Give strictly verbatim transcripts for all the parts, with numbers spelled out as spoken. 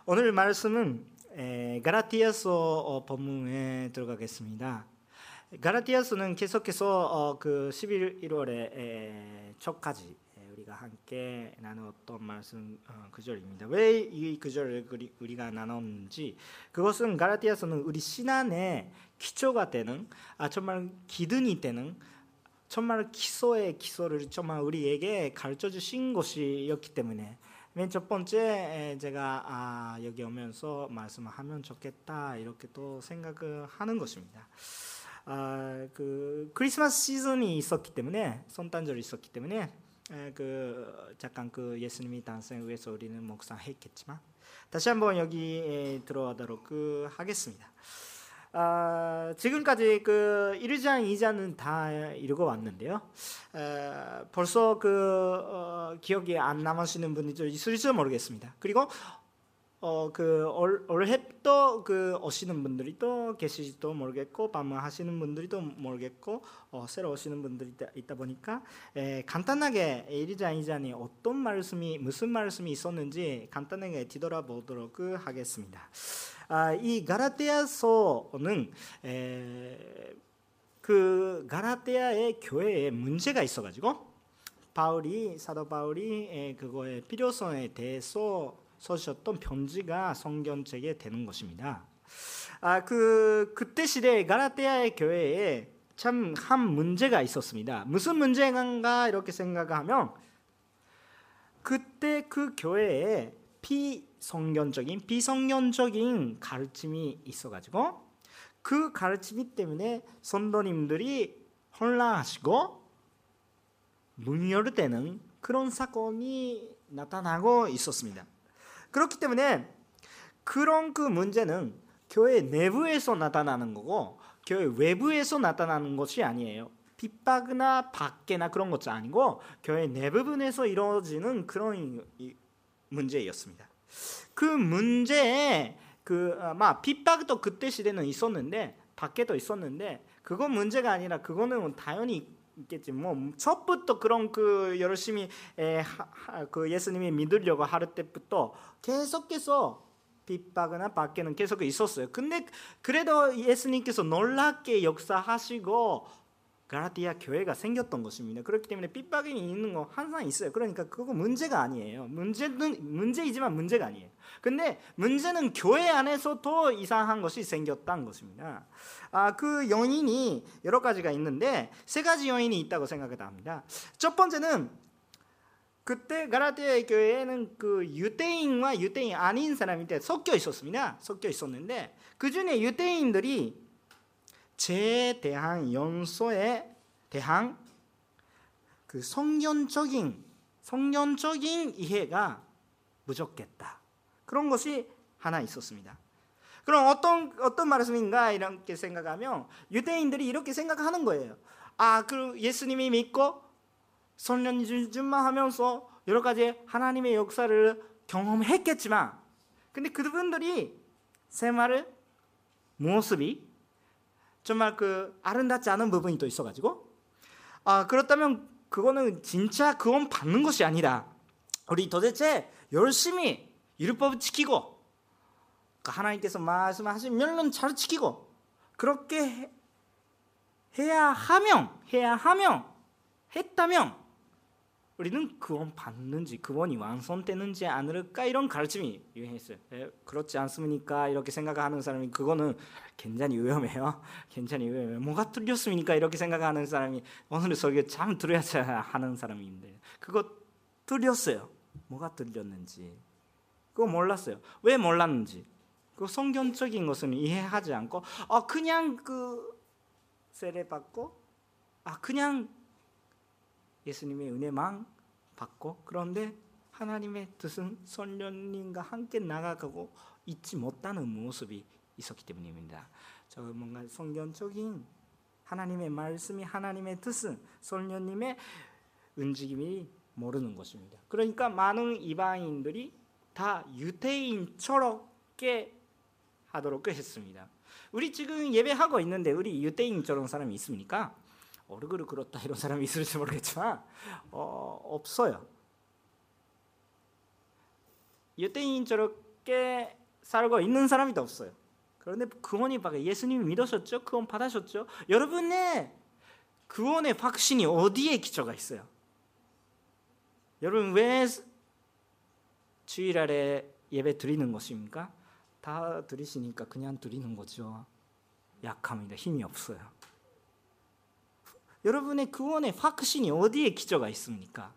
오늘 말씀은 갈라디아서 본문에 들어가겠습니다. 갈라디아서는 계속해서 그 십일월에 초까지 우리가 함께 나눴던 말씀 구절입니다. 왜 이 구절을 우리가 나눴는지, 그것은 갈라디아서는 우리 신앙의 기초가 되는, 아 정말 기둥이 되는, 정말 기초의 기초를 정말 우리에게 가르쳐 주신 것이었기 때문에 맨 첫 번째 제가 아, 여기 오면서 말씀을 하면 좋겠다 이렇게 또 생각을 하는 것입니다. 아, 그 크리스마스 시즌이 있었기 때문에, 성탄절이 있었기 때문에 에, 그 잠깐 그 예수님이 탄생을 위해서 우리는 묵상했겠지만 다시 한번 여기에 들어가도록 그 하겠습니다. 아, 지금까지 그 일 장, 이 장은 다 읽어왔는데요. 에, 벌써 그 어, 기억이 안 남으시는 분이 있을지 모르겠습니다. 그리고 어, 그 올해 또 그 오시는 분들이 또 계실지도 모르겠고, 방문하시는 분들이 또 모르겠고, 어, 새로 오시는 분들이 있다, 있다 보니까 에, 간단하게 일 장, 이 장이 어떤 말씀이 무슨 말씀이 있었는지 간단하게 뒤돌아보도록 하겠습니다. 아, 이 갈라디아서는 에, 그 갈라디아의 교회에 문제가 있어가지고 바울이 사도 바울이 에, 그거의 필요성에 대해서 써주셨던 편지가 성경책에 되는 것입니다. 아, 그 그때 시대에 갈라디아의 교회에 참 한 문제가 있었습니다. 무슨 문제인가 이렇게 생각하면, 그때 그 교회에 비성경적인 비성경적인 가르침이 있어가지고 그 가르침 때문에 성도님들이 혼란하시고 분열되는 그런 사건이 나타나고 있었습니다. 그렇기 때문에 그런 그 문제는 교회 내부에서 나타나는 거고 교회 외부에서 나타나는 것이 아니에요. 핍박이나 밖에나 그런 것이 아니고 교회 내부분에서 이루어지는 그런 문제였습니다. 그 문제에 그 막 핍박도 그때 시대는 있었는데 밖에도 있었는데, 그건 문제가 아니라 그거는 당연히 있겠지. 뭐 첫부터 그런 그 열심히 에, 하, 하, 그 예수님이 믿으려고 할 때부터 계속해서 핍박이나 밖에는 계속 있었어요. 근데 그래도 예수님께서 놀랍게 역사하시고 갈라디아 교회가 생겼던 것입니다. 그렇기 때문에 핍박이 있는 거 항상 있어요. 그러니까 그거 문제가 아니에요. 문제는 문제이지만 문제가 아니에요. 근데 문제는 교회 안에서 더 이상한 것이 생겼다는 것입니다. 아, 그 요인이 여러 가지가 있는데 세 가지 요인이 있다고 생각합니다. 첫 번째는 그때 갈라디아 교회에는 그 유대인과 유대인 아닌 사람이 섞여 있었습니다. 섞여 있었는데 그 중에 유대인들이 죄에 대한 연소에 대한 그 성경적인 성경적인 이해가 부족했다. 그런 것이 하나 있었습니다. 그럼 어떤 어떤 말씀인가 이렇게 생각하면 유대인들이 이렇게 생각하는 거예요. 아, 그 예수님이 믿고 성령 준만 하면서 여러 가지 하나님의 역사를 경험했겠지만, 근데 그분들이 생활을 모습이 정말 그 아름답지 않은 부분이 또 있어가지고, 아, 그렇다면 그거는 진짜 구원 받는 것이 아니라 우리 도대체 열심히 율법을 지키고 하나님께서 말씀하시면 잘 지키고 그렇게 해야 하면 해야 하면 했다면 우리는 구원 받는지 구원이 완성되는지 않을까, 이런 가르침이 유행했어요. 에, 그렇지 않습니까? 이렇게 생각하는 사람이 그거는 굉장히 위험해요. 굉장히 위험해요. 뭐가 틀렸습니까? 이렇게 생각하는 사람이 오늘 설교 참 들어야 하는 사람인데 그거 틀렸어요. 뭐가 틀렸는지 그거 몰랐어요. 왜 몰랐는지 그 성경적인 것은 이해하지 않고 아 그냥 그 세례 받고 아 그냥 예수님의 은혜만 받고, 그런데 하나님의 뜻은 성령님과 함께 나아가고 있지 못하는 모습이 있었기 때문입니다. 저 뭔가 성경적인 하나님의 말씀이 하나님의 뜻은 성령님의 움직임이 모르는 것입니다. 그러니까 많은 이방인들이 다 유대인처럼 하도록 했습니다. 우리 지금 예배하고 있는데 우리 유대인처럼 사람이 있습니까? 얼굴을 그렇다 이런 사람이 있을지 모르겠지만 어, 없어요. 유대인처럼 어떻게 살고 있는 사람이 더 없어요. 그런데 구원이 받아 예수님이 믿으셨죠? 구원 받으셨죠? 여러분의 구원의 확신이 어디에 기초가 있어요? 여러분 왜 주일날에 예배 드리는 것입니까? 다 드리시니까 그냥 드리는 거죠. 약합니다. 힘이 없어요. 여러분의 구원의 확신이 어디에 기초가 있습니까?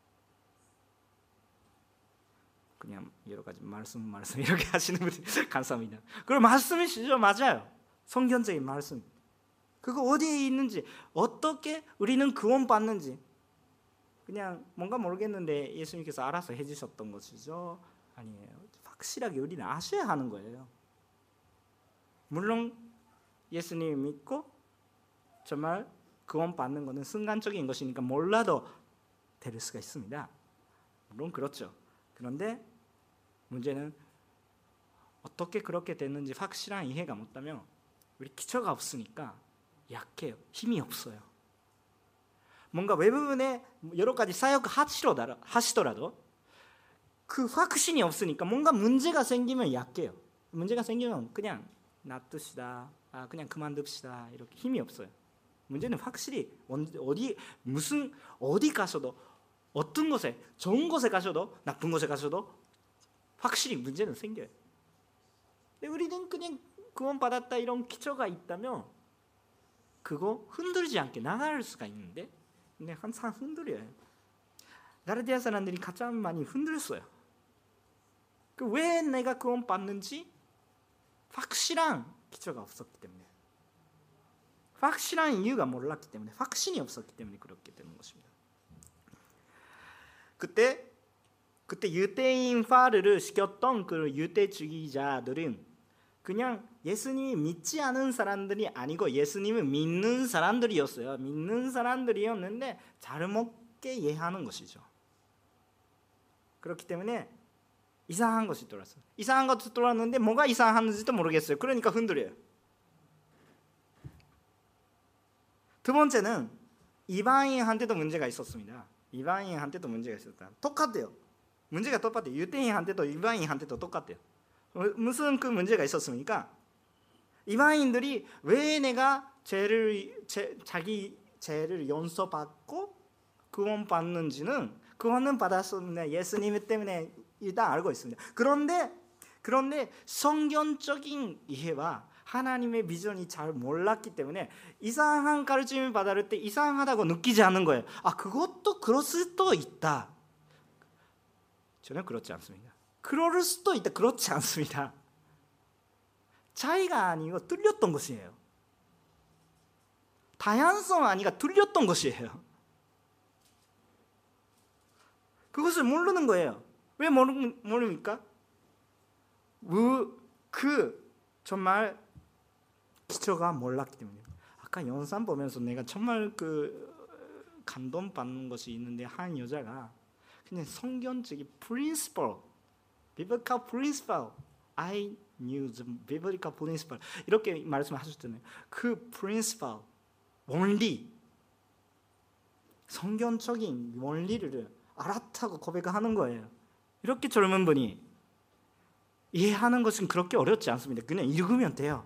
그냥 여러 가지 말씀 말씀 이렇게 하시는 분들 감사합니다. 그럼 말씀이시죠? 맞아요. 성경적인 말씀. 그거 어디에 있는지, 어떻게 우리는 구원 받는지 그냥 뭔가 모르겠는데 예수님께서 알아서 해주셨던 것이죠? 아니에요. 확실하게 우리는 아셔야 하는 거예요. 물론 예수님 믿고 정말 구원 받는 것은 순간적인 것이니까 몰라도 될 수가 있습니다. 물론 그렇죠. 그런데 문제는 어떻게 그렇게 됐는지 확실한 이해가 못하면 우리 기초가 없으니까 약해요. 힘이 없어요. 뭔가 외부분에 여러 가지 사역 하시더라도 그 확신이 없으니까 뭔가 문제가 생기면 약해요. 문제가 생기면 그냥 놔둡시다. 아, 그냥 그만둡시다. 이렇게 힘이 없어요. 문제는 확실히 어디 무슨 어디 가서도 어떤 곳에 좋은 곳에 가셔도 나쁜 곳에 가셔도 확실히 문제는 생겨요. 근데 우리는 그냥 구원 받았다 이런 기초가 있다면 그거 흔들지 않게 나갈 수가 있는데 근데 항상 흔들려요. 가르디아 사람들이 가장 많이 흔들었어요. 그 왜 내가 구원 받는지 확실한 기초가 없었기 때문에, 확실한 이유가 몰랐기 때문에, 확신이 없었기 때문에 그렇게 되는 것입니다. 그때 그때 유대인 파르를 시켰던 그 유대주의자들은 그냥 예수님이 믿지 않은 사람들이 아니고 예수님을 믿는 사람들이었어요. 믿는 사람들이었는데 잘못게 이해하는 것이죠. 그렇기 때문에 이상한 것이 들어왔어요. 이상한 것이 들어왔는데 뭐가 이상한지도 모르겠어요. 그러니까 흔들려요. 두 번째는 이방인한테도 문제가 있었습니다. 이방인한테도 문제가 있었다. 똑같아요. 문제가 똑같아요. 유대인한테도 이방인한테도 똑같아요. 무슨 그 문제가 있었습니까? 이방인들이 왜 내가 죄를 제, 자기 죄를 용서받고 구원받는지는 구원은 받았었는데 예수님 때문에 일단 알고 있습니다. 그런데 그런데 성경적인 이해와 하나님의 비전이 잘 몰랐기 때문에 이상한 가르침을 받을 때 이상하다고 느끼지 않는 거예요. 아, 그것도 그럴 수도 있다. 전혀 그렇지 않습니다. 그럴 수도 있다. 그렇지 않습니다. 차이가 아니고 틀렸던 것이에요. 다양성 아니가 틀렸던 것이에요. 그것을 모르는 거예요. 왜 모르, 모릅니까? 그 정말 기초가 몰랐기 때문에. 아까 영상 보면서 내가 정말 그 감동받는 것이 있는데 한 여자가 그냥 성경적인 principle, biblical principle, I knew the biblical principle 이렇게 말씀하셨잖아요. 그 principle, 원리, 성경적인 원리를 알았다고 고백하는 거예요. 이렇게 젊은 분이 이해하는 것은 그렇게 어렵지 않습니다. 그냥 읽으면 돼요.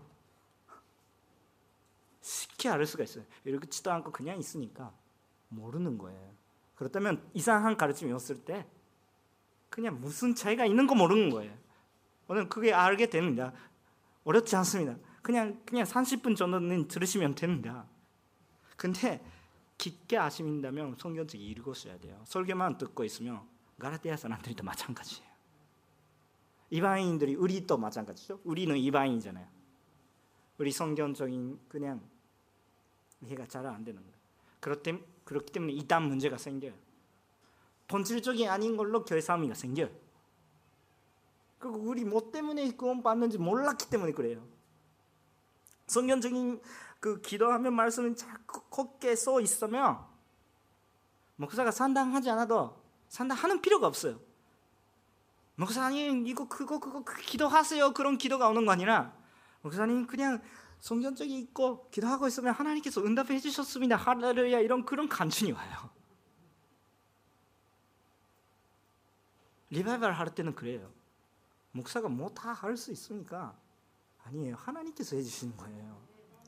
쉽게 알 수가 있어요. 읽지도 않고 그냥 있으니까 모르는 거예요. 그렇다면 이상한 가르침이었을 때 그냥 무슨 차이가 있는 거 모르는 거예요. 오늘 그게 알게 됩니다. 어렵지 않습니다. 그냥 그냥 삼십 분 정도는 들으시면 됩니다. 근데 깊게 아신다면 성경책 읽으셔야 돼요. 설교만 듣고 있으면 가라디아 사람들도 마찬가지예요. 이방인들이 우리도 마찬가지죠. 우리는 이방인이잖아요. 우리 성경적인 그냥 이해가 잘 안 되는 거예요. 그렇기, 그렇기 때문에 이단 문제가 생겨요. 본질적인 아닌 걸로 교회 싸움이 생겨요. 그리고 우리 뭐 때문에 구원 받는지 몰랐기 때문에 그래요. 성경적인 그 기도하면 말씀은 자꾸 걷게 써 있으면 목사가 산당하지 않아도 산당하는 필요가 없어요. 목사님 이거 그거 그거 기도하세요. 그런 기도가 오는 거 아니라 목사님 그냥 성경적이 있고 기도하고 있으면 하나님께서 응답해 주셨습니다. 할렐루야 이런 그런 간증이 와요. 리바이벌 할 때는 그래요. 목사가 뭐 다 할 수 있으니까 아니에요. 하나님께서 해주시는 거예요.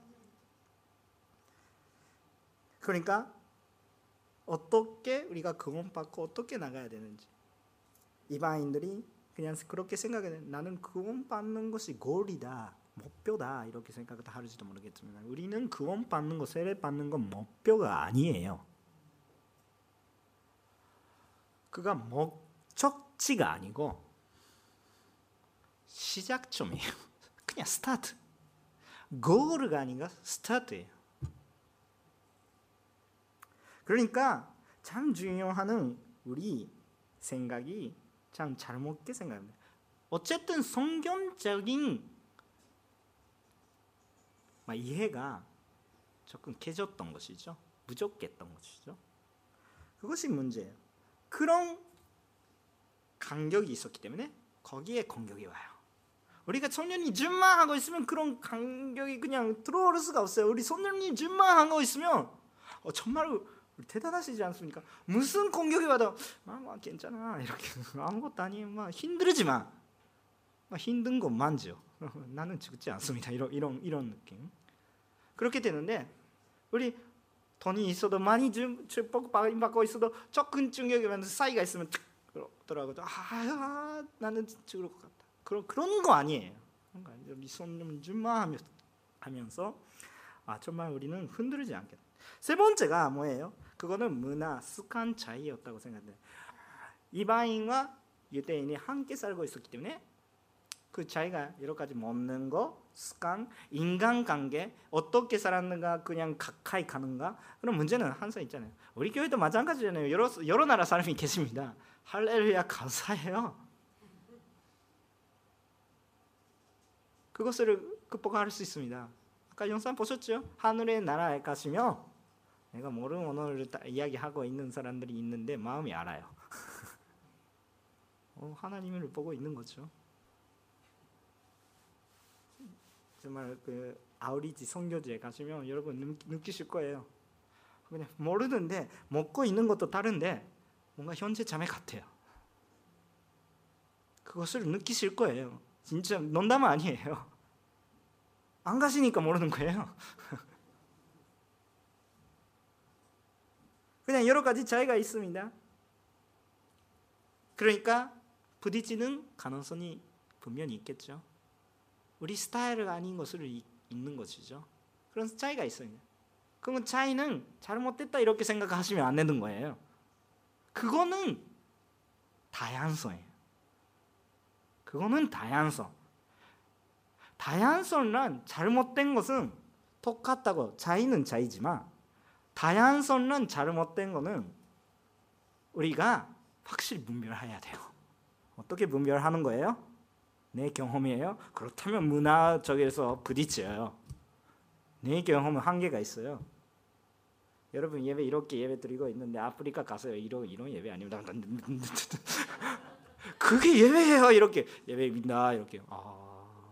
그러니까 어떻게 우리가 구원받고 어떻게 나가야 되는지, 이방인들이 그냥 그렇게 생각해. 나는 구원받는 것이 골이다, 목표다 이렇게 생각을 할지도 모르겠지만, 우리는 구원받는 것, 세례받는 건 목표가 아니에요. 그가 목적지가 아니고 시작점이에요. 그냥 스타트. 고르가 아닌가 스타트예요. 그러니까 참 중요한 우리 생각이 참 잘못게 생각합니다. 어쨌든 성경적인 이해가 조금 깨졌던 것이죠. 부족했던 것이죠. 그것이 문제예요. 그런 간격이 있었기 때문에 거기에 공격이 와요. 우리가 성령님 준마하고 있으면 그런 간격이 그냥 들어올 수가 없어요. 우리 성령님 준마하고 있으면 어, 정말 대단하시지 않습니까? 무슨 공격이 와도 아, 뭐 괜찮아 이렇게 아무것도 아니에요. 막 힘들지 마. 막 힘든 것만죠. 나는 죽지 않습니다. 이런 이런 이런 느낌. 그렇게 되는데 우리 돈이 있어도 많이 축복 받고 있어도 조금 충격이 사이가 있으면 툭 들어가도 아, 아 나는 죽을 것 같다. 그런 그런 거 아니에요. 그러니까 우리 손님 준마 하면서 아 정말 우리는 흔들리지 않겠다. 세 번째가 뭐예요? 그거는 문화, 습관 차이였다고 생각해요. 이방인과 유대인이 함께 살고 있었기 때문에 그 차이가 여러 가지 먹는 거, 습관, 인간관계 어떻게 살았는가, 그냥 가까이 가는가 그런 문제는 항상 있잖아요. 우리 교회도 마찬가지잖아요. 여러 여러 나라 사람이 계십니다. 할렐루야 감사해요. 그것을 극복할 수 있습니다. 아까 영상 보셨죠? 하늘의 나라에 가시면 내가 모르는 언어를 이야기하고 있는 사람들이 있는데 마음이 알아요. 어, 하나님을 보고 있는 거죠. 정말 그 아우리지 선교지에 가시면 여러분 느끼실 거예요. 그냥 모르는데 먹고 있는 것도 다른데 뭔가 현재 자매 같아요. 그것을 느끼실 거예요. 진짜 농담 아니에요. 안 가시니까 모르는 거예요. 그냥 여러 가지 차이가 있습니다. 그러니까 부딪히는 가능성이 분명히 있겠죠. 우리 스타일이 아닌 것을 있는 것이죠. 그런 차이가 있어요. 그러면 차이는 잘못됐다 이렇게 생각하시면 안 되는 거예요. 그거는 다양성이에요. 그거는 다양성. 다양성은 잘못된 것은 똑같다고, 차이는 차이지만 다양성은 잘못된 것은 우리가 확실히 분별해야 돼요. 어떻게 분별하는 거예요? 내 경험이에요? 그렇다면 문화 쪽에서 부딪혀요. 내 경험은 한계가 있어요. 여러분 예배 이렇게 예배 드리고 있는데 아프리카 가서요. 이런 이런 예배 아닙니다. 그게 예배예요. 이렇게 예배 믿나 이렇게. 아.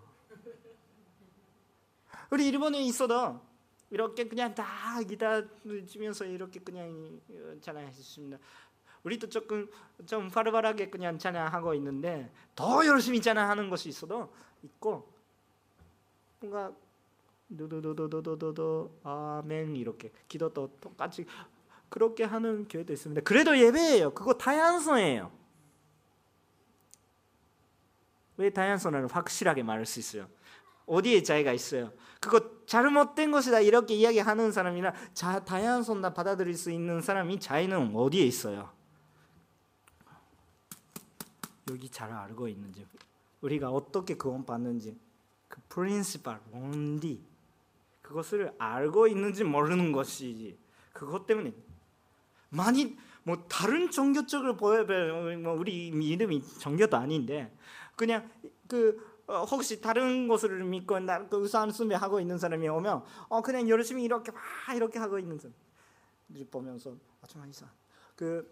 우리 일본에 있어도 이렇게 그냥 다 기다리면서 이렇게 그냥 찬양했습니다. 우리도 조금 좀 바르바르하게 그냥 찬양하고 있는데 더 열심히 찬양하는 것이 있어도 있고 뭔가 도도도도도도도 아멘 이렇게 기도도 똑같이 그렇게 하는 교회도 있습니다. 그래도 예배예요. 그거 다양성이에요. 왜 다양성을 확실하게 말할 수 있어요? 어디에 차이가 있어요? 그거 잘못된 것이다 이렇게 이야기하는 사람이나 자, 다양성 다 받아들일 수 있는 사람이 차이는 어디에 있어요? 여기 잘 알고 있는지, 우리가 어떻게 구원받는지 그 프린시플, 원리 그것을 알고 있는지 모르는 것이지. 그것 때문에 많이 뭐 다른 종교 쪽을 보여요. 뭐 우리 이름이 종교도 아닌데 그냥 그 어, 혹시 다른 것을 믿고 나 그 우상 숭배하고 있는 사람이 오면 어 그냥 열심히 이렇게 막 이렇게 하고 있는 사람 보면서 아 좀 이상 그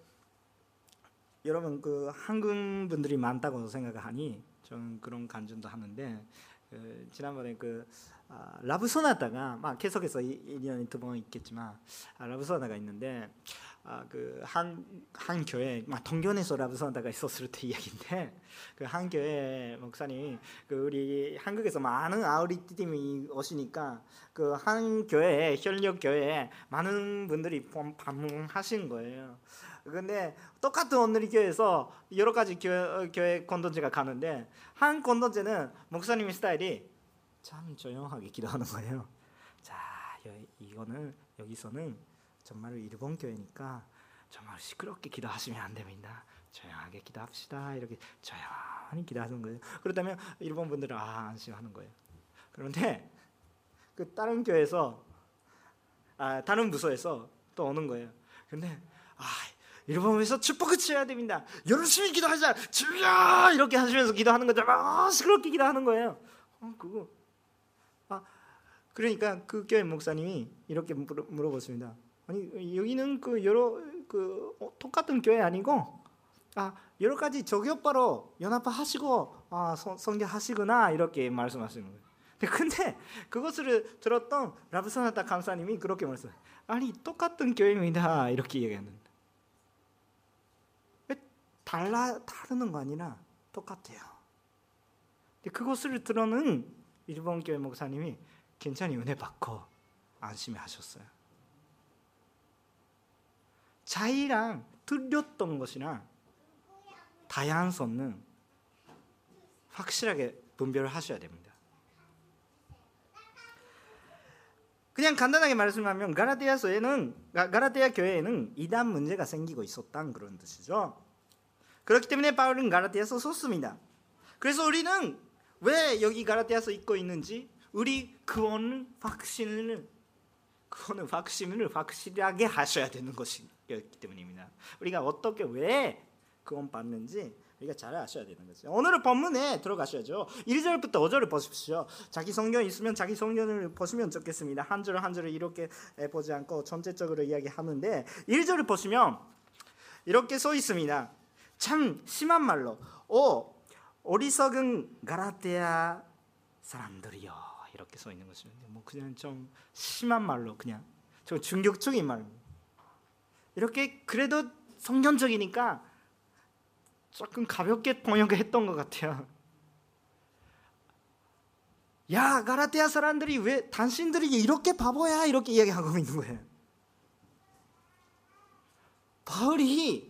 여러분 그 한국 분들이 많다고 생각하니 저는 그런 간증도 하는데 그 지난번에 그 아, 라브 소나타가 막 계속해서 일 년에 두 번 있겠지만 아, 라브 소나타가 있는데 아, 그 한 한 교회 막 동경에서 라브 소나타가 있었을 때 이야기인데 그 한 교회 목사님이 그 우리 한국에서 많은 아우리 팀이 오시니까 그 한 교회에 현역 교회에 많은 분들이 방문하신 거예요. 근데 똑같은 오늘의 교회에서 여러 가지 교회, 교회 공동체가 가는데 한 공동체는 목사님의 스타일이 참 조용하게 기도하는 거예요. 자, 이거는 여기서는 정말 일본 교회니까 정말 시끄럽게 기도하시면 안 됩니다. 조용하게 기도합시다. 이렇게 조용히 기도하는 거예요. 그렇다면 일본 분들은 아, 안심하는 거예요. 그런데 그 다른 교회에서 아, 다른 부서에서 또 오는 거예요. 근데 아, 일본에서 축복을 취해야 됩니다. 열심히 기도하자. 주여! 이렇게 하시면서 기도하는 거죠. 아, 시끄럽게 기도하는 거예요. 어, 그거 아, 그러니까 그 교회 목사님이 이렇게 물어, 물어봤습니다. 아니 여기는 그 여러 그 어, 똑같은 교회 아니고 아 여러 가지 저기오빠로 연합하시고 아 성교하시구나 이렇게 말씀하시는 거예요. 근데 그것을 들었던 라브소나타 강사님이 그렇게 말했어요. 아니 똑같은 교회입니다 이렇게 얘기했는데 왜 달라 다르는 거 아니라 똑같아요. 그것을 들어는 일본 교회 목사님이 괜찮이 은혜 받고 안심하셨어요. 차이랑 틀렸던 것이나 다양성은 확실하게 분별을 하셔야 됩니다. 그냥 간단하게 말씀하면 가라테아서에는 가라테아 교회에는 이단 문제가 생기고 있었다는 그런 뜻이죠. 그렇기 때문에 바울은 가라테아서 썼습니다. 그래서 우리는 왜 여기 가라테아서 읽고 있는지 우리 구원을 확신을 구원을 확신을 확실하게 하셔야 되는 것이기 때문입니다. 우리가 어떻게 왜 구원 받는지 우리가 잘 아셔야 되는 거죠. 오늘의 본문에 들어가셔야죠. 일 절부터 오 절을 보십시오. 자기 성경 있으면 자기 성경을 보시면 좋겠습니다. 한 절 한 절을 이렇게 보지 않고 전체적으로 이야기하는데 일 절을 보시면 이렇게 써 있습니다. 참 심한 말로 오 어리석은 가라테아 사람들이요 이렇게 써 있는 것입니다. 뭐 그냥 좀 심한 말로 그냥 좀 충격적인 말로 이렇게 그래도 성경적이니까 조금 가볍게 번역했던 것 같아요. 야 가라테아 사람들이 왜 당신들이 이렇게 바보야 이렇게 이야기하고 있는 거예요. 바울이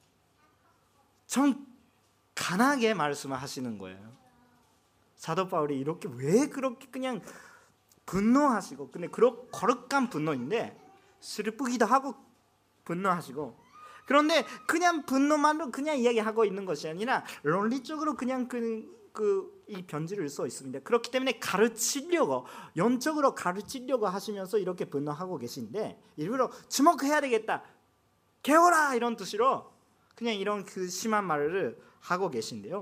좀 강하게 말씀하시는 거예요. 사도 바울이 이렇게 왜 그렇게 그냥 분노하시고 근데 그런 거룩한 분노인데 슬프기도 하고 분노하시고 그런데 그냥 분노만으로 그냥 이야기하고 있는 것이 아니라 논리적으로 그냥 그 그 이 편지를 써 있습니다. 그렇기 때문에 가르치려고 영적으로 가르치려고 하시면서 이렇게 분노하고 계신데 일부러 주목해야 되겠다. 개워라 이런 뜻으로 그냥 이런 그 심한 말을 하고 계신데요.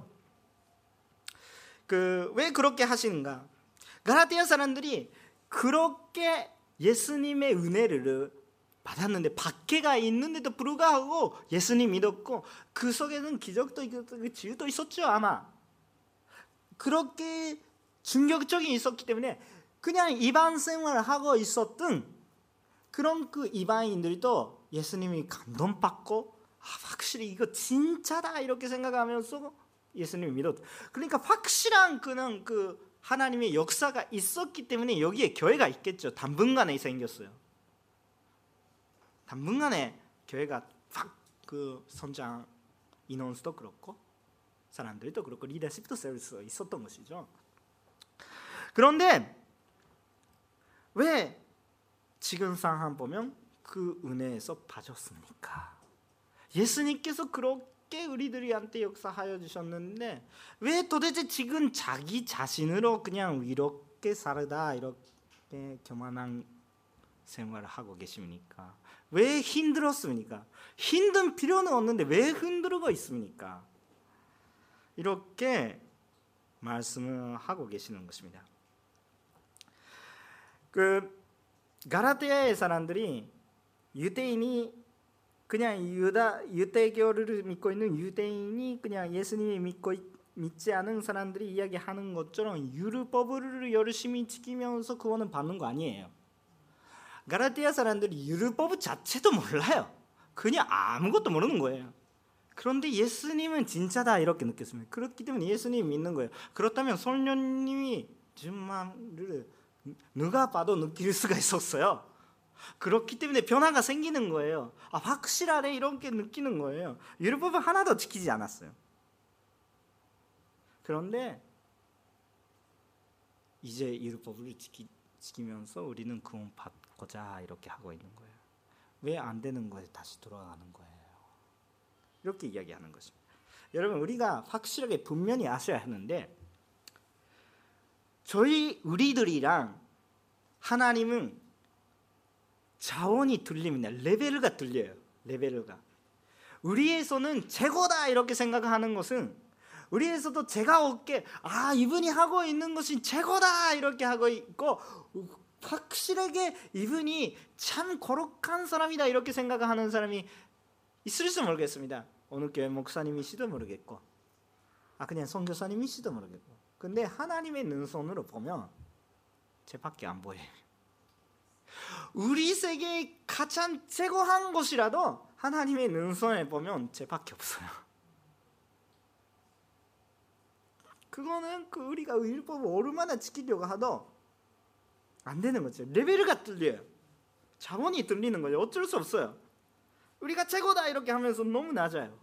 그 왜 그렇게 하시는가? 가라테아 사람들이 그렇게 예수님의 은혜를 받았는데 박해가 있는데도 불구하고 예수님 믿었고 그 속에는 기적도 있었고 지유도 있었죠 아마. 그렇게 충격적인 있었기 때문에 그냥 이방 생활을 하고 있었던 그런 그 이방인들도 예수님이 감동받고 아, 확실히 이거 진짜다 이렇게 생각하면서 예수님을 믿었다. 그러니까 확실한 그는 그 하나님의 역사가 있었기 때문에 여기에 교회가 있겠죠. 당분간에 생겼어요. 당분간에 교회가 확 그 성장 인원수도 그렇고 사람들도 그렇고 리더십도 세울수 있었던 것이죠. 그런데 왜 지금 상황 보면 그 은혜에서 빠졌습니까? 예수님께서 그렇게 우리들한테 역사하여 주셨는데 왜 도대체 지금 자기 자신으로 그냥 이렇게 살다 이렇게 교만한 생활을 하고 계십니까? 왜 힘들었습니까? 힘든 필요는 없는데 왜 힘들고 있습니까? 이렇게 말씀을 하고 계시는 것입니다. 그 가라테아의 사람들이 유대인이 그냥 유다 유대교를 믿고 있는 유대인이 그냥 예수님이 믿고 믿지 않은 사람들이 이야기하는 것처럼 율법을 열심히 지키면서 구원을 받는 거 아니에요. 갈라디아 사람들이 율법 자체도 몰라요. 그냥 아무것도 모르는 거예요. 그런데 예수님은 진짜다 이렇게 느꼈습니다. 그렇기 때문에 예수님 믿는 거예요. 그렇다면 성령님이 정말을 누가 봐도 느낄 수가 있었어요. 그렇기 때문에 변화가 생기는 거예요. 아, 확실하네 이렇게 느끼는 거예요. 율법은 하나도 지키지 않았어요. 그런데 이제 율법을 지키, 지키면서 우리는 구원 받고자 이렇게 하고 있는 거예요. 왜 안 되는 거에 다시 돌아가는 거예요. 이렇게 이야기하는 것입니다. 여러분, 우리가 확실하게 분명히 아셔야 하는데, 저희 우리들이랑 하나님은 자원이 틀립니다. 레벨가 틀려요. 레벨가. 우리에서는 최고다 이렇게 생각하는 것은, 우리에서도 제가 없게 아 이분이 하고 있는 것이 최고다 이렇게 하고 있고, 확실하게 이분이 참 거룩한 사람이다 이렇게 생각하는 사람이 있을지 모르겠습니다. 어느 교회 목사님이시도 모르겠고, 아 그냥 선교사님이시도 모르겠고. 근데 하나님의 눈선으로 보면 쟤밖에 안 보여요. 우리 세계의 가장 최고한 것이라도 하나님의 눈선에 보면 쟤밖에 없어요. 그거는 그 우리가 율법을 얼마나 지키려고 하도 안 되는 거죠. 레벨가 틀려요. 자원이 틀리는 거죠. 어쩔 수 없어요. 우리가 최고다 이렇게 하면서 너무 낮아요.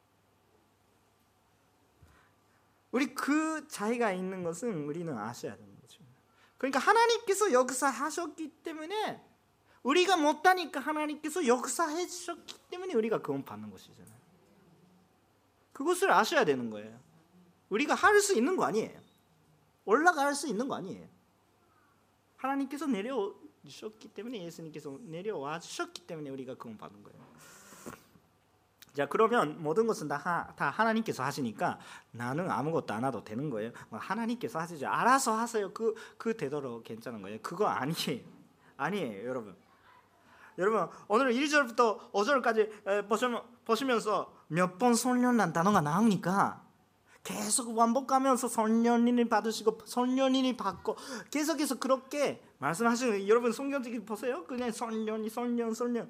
우리 그 차이가 있는 것은 우리는 아셔야 되는 거죠. 그러니까 하나님께서 역사하셨기 때문에, 우리가 못하니까 하나님께서 역사해 주셨기 때문에 우리가 구원 받는 것이잖아요. 그것을 아셔야 되는 거예요. 우리가 할 수 있는 거 아니에요. 올라갈 수 있는 거 아니에요. 하나님께서 내려주셨기 때문에, 예수님께서 내려와 주셨기 때문에 우리가 구원 받는 거예요. 자, 그러면 모든 것은 다, 다 하나님께서 하시니까 나는 아무것도 안 해도 되는 거예요. 하나님께서 하시죠. 알아서 하세요. 그, 그 되도록 괜찮은 거예요. 그거 아니에요. 아니에요, 여러분. 여러분, 오늘 일 절부터 오 절까지 보시면서 몇 번 선련한 단어가 나오니까 계속 반복하면서 선련인을 받으시고 선련인을 받고 계속해서 그렇게 말씀하시는 거예요. 여러분 성경책 보세요. 그냥 선련이 선련 선련.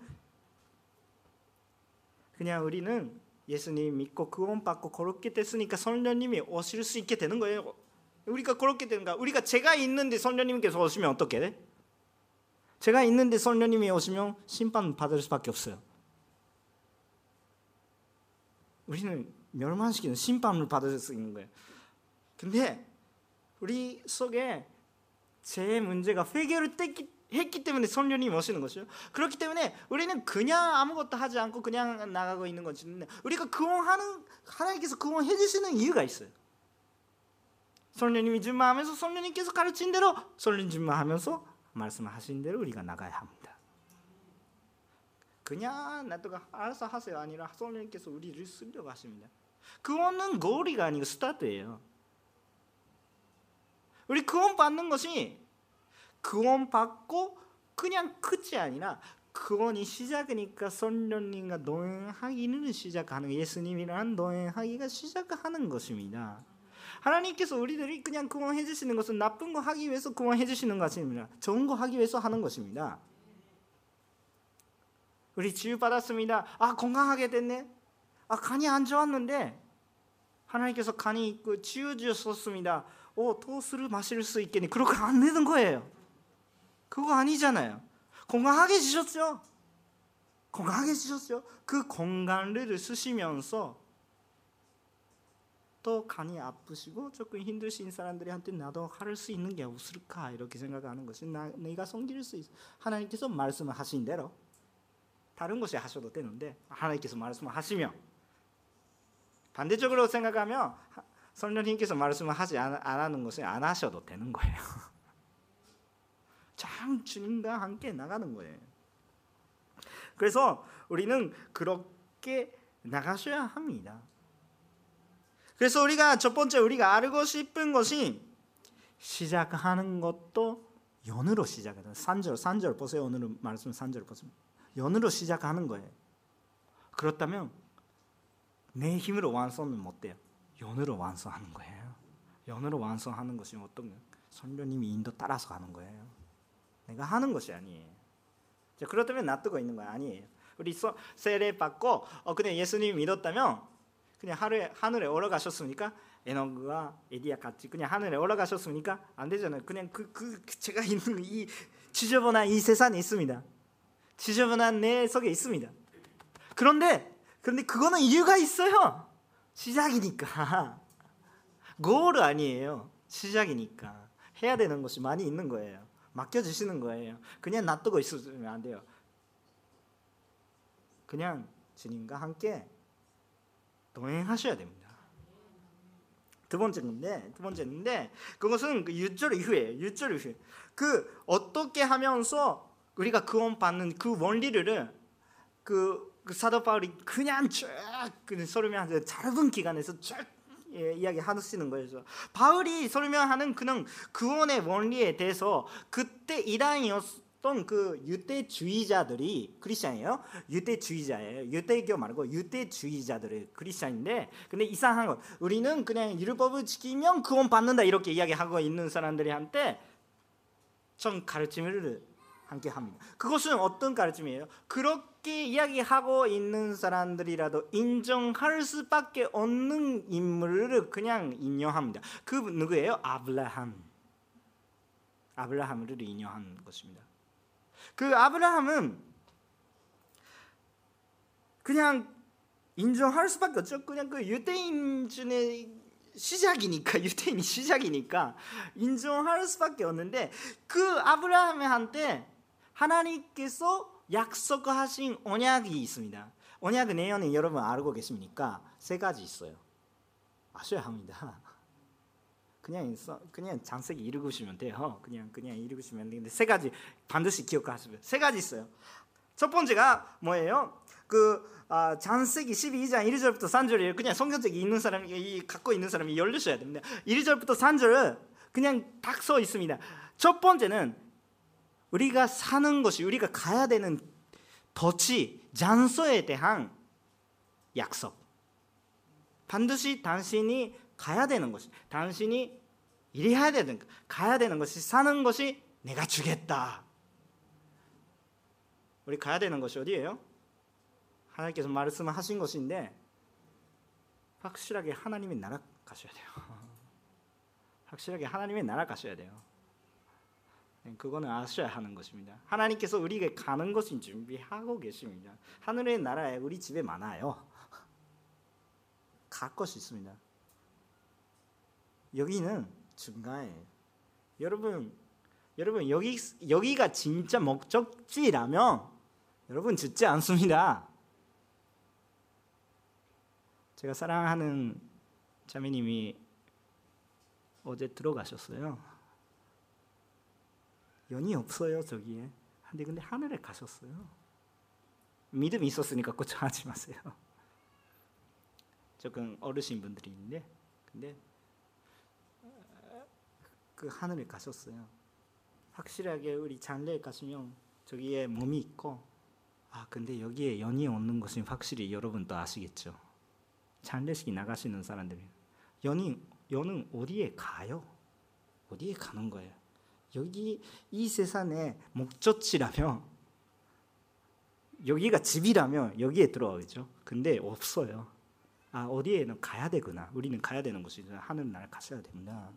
그냥 우리는 예수님 믿고 구원받고 그렇게 됐으니까 선련님이 오실 수 있게 되는 거예요. 우리가 그렇게 되는가? 우리가 제가 있는데 선련님께서 오시면 어떻게 돼? 제가 있는데 선련님이 오시면 심판 받을 수밖에 없어요. 우리는 멸망시키는 심판을 받을 수 있는 거예요. 근데 우리 속에 제 문제가 해결을 했기 때문에 선련님이 오시는 것이죠. 그렇기 때문에 우리는 그냥 아무것도 하지 않고 그냥 나가고 있는 것인데, 우리가 구원하는, 하나님께서 구원해 주시는 이유가 있어요. 선련님이 준마하면서 선련님께서 가르친 대로 선련 준마하면서 말씀하신 대로 우리가 나가야 합니다. 그냥 놔두고 알아서 하세요 아니라 선생님께서 우리를 쓰려고 하십니다. 구원은 고리가 아니고 스타트예요. 우리 구원 받는 것이 구원 받고 그냥 끝이 아니라, 구원이 시작이니까 선련님과 동행하기는 시작하는, 예수님이랑 동행하기가 시작하는 것입니다. 하나님께서 우리들이 그냥 구원해 주시는 것은 나쁜 거 하기 위해서 구원해 주시는 것이 아니라 좋은 거 하기 위해서 하는 것입니다. 우리 치유 받았습니다. 아 건강하게 됐네. 아 간이 안 좋았는데 하나님께서 간이 있고 치유 주셨습니다. 오 또 술을 마실 수 있겠니? 그렇게 안 되는 거예요. 그거 아니잖아요. 건강하게 주셨죠. 건강하게 주셨죠. 그 건강을 쓰시면서 또 간이 아프시고 조금 힘드신 사람들한테 나도 할 수 있는 게 없을까 이렇게 생각하는 것이, 나, 내가 섬길 수 있어. 하나님께서 말씀하신 대로 다른 것이 하셔도 되는데 하나님께서 말씀하시면, 반대적으로 생각하면 성령님께서 말씀을 하지 안, 안 하는 것을 안 하셔도 되는 거예요. 참 주님과 함께 나가는 거예요. 그래서 우리는 그렇게 나가셔야 합니다. 그래서 우리가 첫 번째 우리가 알고 싶은 것이, 시작하는 것도 연으로 시작하는, 삼 절 삼 절 보세요. 오늘 말씀 삼 절 보세요. 연으로 시작하는 거예요. 그렇다면 내 힘으로 완성은 못 돼요. 연으로 완성하는 거예요. 연으로 완성하는 것이 어떤 성령님이 인도 따라서 가는 거예요. 내가 하는 것이 아니에요. 자, 그렇다면 놔두고 있는 거 아니에요. 우리 세례 받고 어, 그냥 예수님 믿었다면 그냥 하늘에, 하늘에 올라가셨습니까? 에녹과 에디야 같이 그냥 하늘에 올라가셨습니까? 안 되잖아요. 그냥 그, 그 제가 있는 이 지저분한 이 세상에 있습니다. 지저분한 내 속에 있습니다. 그런데 그런데 그거는 이유가 있어요. 시작이니까. 고를 아니에요. 시작이니까 해야 되는 것이 많이 있는 거예요. 맡겨주시는 거예요. 그냥 놔두고 있으면 안 돼요. 그냥 주님과 함께 동행하셔야 됩니다. 두 번째 건데, 두 번째인데 그것은 그 육 절 이후에, 육 절 이후에 그 어떻게 하면서 우리가 구원 받는 그 원리를 그, 그 사도 바울이 그냥 쭉 그 설명하는 짧은 기간에서 쭉 예, 이야기 하시는 거예요. 바울이 설명하는 그는 구원의 원리에 대해서 그때 이단이었던 그 유대주의자들이 크리스천이에요. 유대주의자예요. 유대교 말고 유대주의자들이 크리스천인데, 근데 이상한 건 우리는 그냥 율법을 지키면 구원 받는다 이렇게 이야기하고 있는 사람들한테 좀 가르침을 함께 합니다. 그것은 어떤 가르침이에요? 그렇게 이야기하고 있는 사람들이라도 인정할 수밖에 없는 인물을 그냥 인용합니다. 그 누구예요? 아브라함. 아브라함을 인용한 것입니다. 그 아브라함은 그냥 인정할 수밖에 없죠. 그냥 그 유대인 중에 시작이니까, 유대인이 시작이니까 인정할 수밖에 없는데, 그 아브라함한테 하나님께서 약속하신 언약이 있습니다. 언약 내용은 여러분 알고 계십니까? 세 가지 있어요. 아셔야 합니다. 그냥 그냥 장세기 읽으시면 돼요. 그냥 그냥 읽으시면 되는데 세 가지 반드시 기억하시면. 세 가지 있어요. 첫 번째가 뭐예요? 그 아, 장세기 십이 장 일 절부터 삼 절이에요. 그냥 성경책 있는 사람이 갖고 있는 사람이 열리셔야 됩니다. 일 절부터 삼 절은 그냥 딱 써 있습니다. 첫 번째는 우리가 사는 것이, 우리가 가야 되는土地, 장소에 대한 약속. 반드시 당신이 가야 되는 것이, 당신이 일해야 되는, 가야 되는 것이, 사는 것이 내가 주겠다. 우리 가야 되는 것이 어디예요? 하나님께서 말씀하신 것인데 확실하게 하나님의 나라 가셔야 돼요. 확실하게 하나님의 나라 가셔야 돼요. 그거는 아셔야 하는 것입니다. 하나님께서 우리에게 가는 것을 준비하고 계십니다. 하늘의 나라에 우리 집에 많아요. 갈 것이 있습니다. 여기는 중간에 여러분 여러분 여기 여기가 진짜 목적지라면 여러분 죽지 않습니다. 제가 사랑하는 자매님이 어제 들어가셨어요. 연이 없어요 저기에. 근데 근데 하늘에 가셨어요. 믿음이 있었으니까 걱정하지 마세요. 조금 어르신 분들이 있는데, 근데 그 하늘에 가셨어요. 확실하게 우리 장례에 가시면 저기에 몸이 있고, 아 근데 여기에 연이 없는 것은 확실히 여러분도 아시겠죠. 장례식이 나가시는 사람들이 연이 연은 어디에 가요? 어디에 가는 거예요? 여기 이 세상의 목적지라면, 여기가 집이라면 여기에 들어오죠. 근데 없어요. 아 어디에는 가야 되구나. 우리는 가야 되는 곳이죠. 하늘나라 가셔야 됩니다.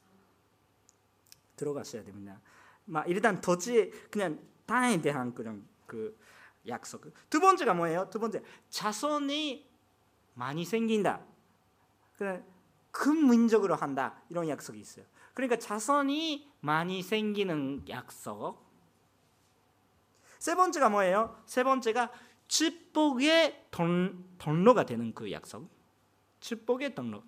들어가셔야 됩니다. 막 일단 도지 그냥 땅에 대한 그런 그 약속. 두 번째가 뭐예요? 두 번째, 자손이 많이 생긴다. 그냥 큰 민족으로 한다. 이런 약속이 있어요. 그러니까 자손이 많이 생기는 약속. 세 번째가 뭐예요? 세 번째가 축복의 통로가 되는 그 약속. 축복의 통로.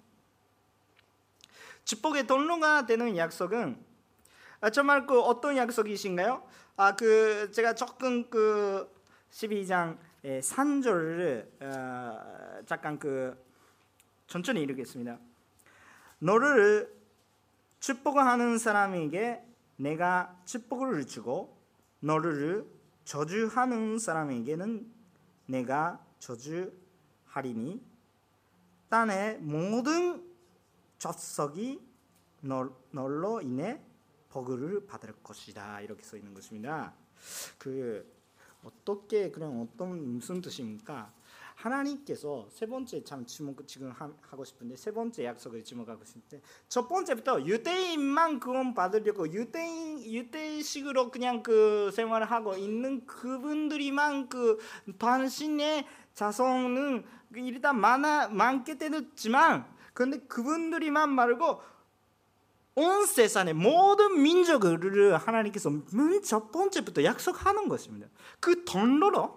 축복의 통로가 되는 약속은 아, 정말 그 어떤 약속이신가요? 아, 그 제가 조금 그 십이 장 삼 절을 어, 잠깐 그 천천히 읽겠습니다. 너를 축복하는 사람에게 내가 축복을 주고 너를 저주하는 사람에게는 내가 저주하리니 땅의 모든 족속이 널로 인해 복을 받을 것이다. 이렇게 써 있는 것입니다. 그 어떻게 그냥 어떤 무슨 뜻입니까? 하나님께서 세 번째 참 지목 지금 하고 싶은데 세 번째 약속을 지목하고 싶은데 첫 번째부터 유대인만 구원 받으려고 유대인 유대식으로 그냥 그 생활을 하고 있는 그분들이만 그 당신의 자손은 일단 많아 많게 되었지만 그런데 그분들이만 말고 온 세상의 모든 민족을 하나님께서 첫 번째부터 약속하는 것입니다. 그 돈로로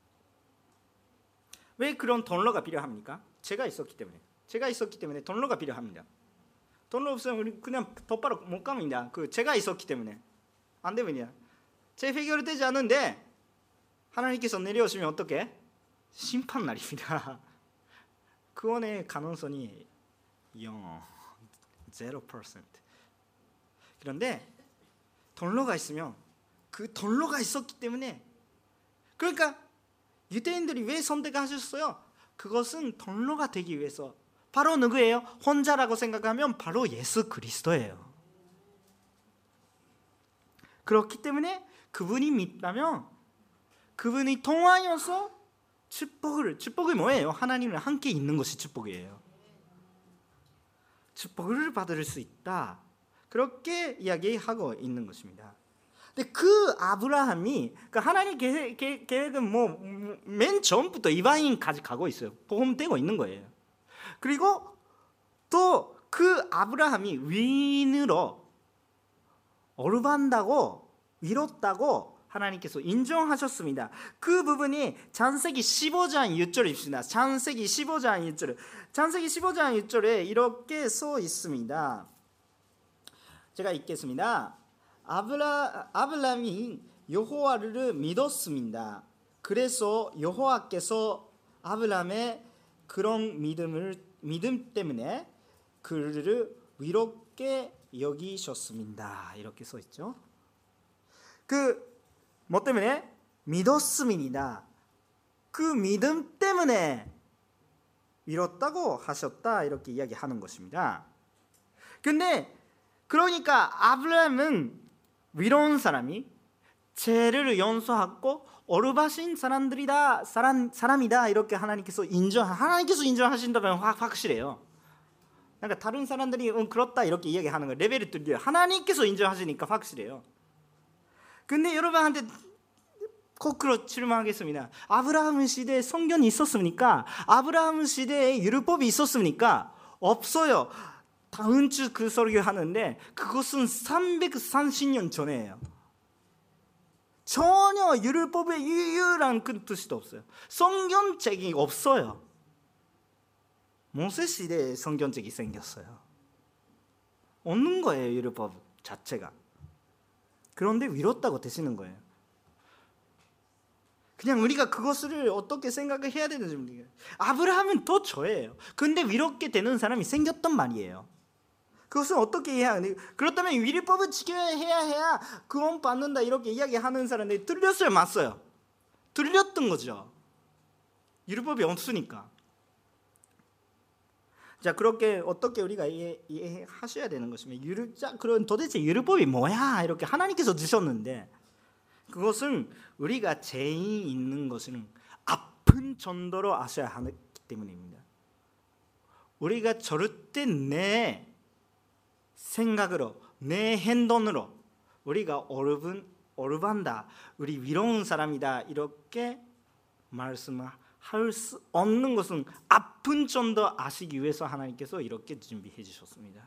왜 그런 돈로가 필요합니까? 제가 있었기 때문에 제가 있었기 때문에 돈로가 필요합니다. 돈로 없으면 우리 그냥 똑바로 못 갑니다. 그 제가 있었기 때문에 안 되면요. 제 해결되지 않은데 하나님께서 내려오시면 어떻게? 심판 날입니다. 구원의 가능성이 영, 제로 퍼센트. 그런데 돈로가 있으면 그 돈로가 있었기 때문에 그러니까 유대인들이 왜 선택하셨어요? 그것은 돈로가 되기 위해서. 바로 누구예요? 혼자라고 생각하면 바로 예수 그리스도예요. 그렇기 때문에 그분이 믿다면 그분이 통하여서 축복을 축복이 뭐예요? 하나님과 함께 있는 것이 축복이에요. 축복을 받을 수 있다. 그렇게 이야기하고 있는 것입니다. 근데 그 아브라함이 그 하나님 계획, 계획은 뭐 맨 처음부터 이방인까지 가고 있어요. 포함되고 있는 거예요. 그리고 또 그 아브라함이 위인으로 어루반다고 위롭다고 하나님께서 인정하셨습니다. 그 부분이 창세기 십오 장 육 절입니다. 창세기 십오 장 육 절. 창세기 십오 장 육 절에 이렇게 써 있습니다. 제가 읽겠습니다. 아브라, 아브라함이 여호와를 믿었습니다. 그래서 여호와께서 아브라함의 그런 믿음을 믿음 때문에 그를 위롭게 여기셨습니다. 이렇게 써 있죠. 그 뭐 때문에? 믿었습니다. 그 믿음 때문에 위롭다고 하셨다. 이렇게 이야기하는 것입니다. 근데 그러니까 아브라함은 위로운 사람이 죄를 용서하고 어루바신 사람들이다 사람, 사람이다 이렇게 하나님께서 인정 하나님께서 인정하신다면 확, 확실해요. 그러니까 다른 사람들이 응, 그렇다 이렇게 이야기하는 거 레벨이 들려요. 하나님께서 인정하시니까 확실해요. 근데 여러분한테 거꾸로 질문하겠습니다. 아브라함 시대에 성경이 있었습니까? 아브라함 시대에 율법이 있었습니까? 없어요. 다음 주 그 설교하는데 그것은 삼백삼십 년 전이에요. 전혀 율법의 유일한 그 뜻도 없어요. 성경책이 없어요. 모세 시대에 성경책이 생겼어요. 없는 거예요, 율법 자체가. 그런데 위롭다고 되시는 거예요. 그냥 우리가 그것을 어떻게 생각을 해야 되는지 모르겠어요. 아브라함은 더 저예요. 근데 위롭게 되는 사람이 생겼단 말이에요. 그것을 어떻게 해야 하는지. 그렇다면 율법을 지켜야 해야 해야 구원 받는다 이렇게 이야기하는 사람들이 틀렸어요, 맞어요? 틀렸던 거죠. 율법이 없으니까. 자, 그렇게 어떻게 우리가 이해, 이해하셔야 되는 것이면 율, 자, 그럼 도대체 율법이 뭐야? 이렇게 하나님께서 주셨는데 그것은 우리가 죄인 있는 것은 아픈 정도로 아셔야 하기 때문입니다. 우리가 절대 내 생각으로 내 행동으로 우리가 어르분 어르반다, 우리 위로운 사람이다 이렇게 말씀할 수 없는 것은 아픈 정도 아시기 위해서 하나님께서 이렇게 준비해 주셨습니다.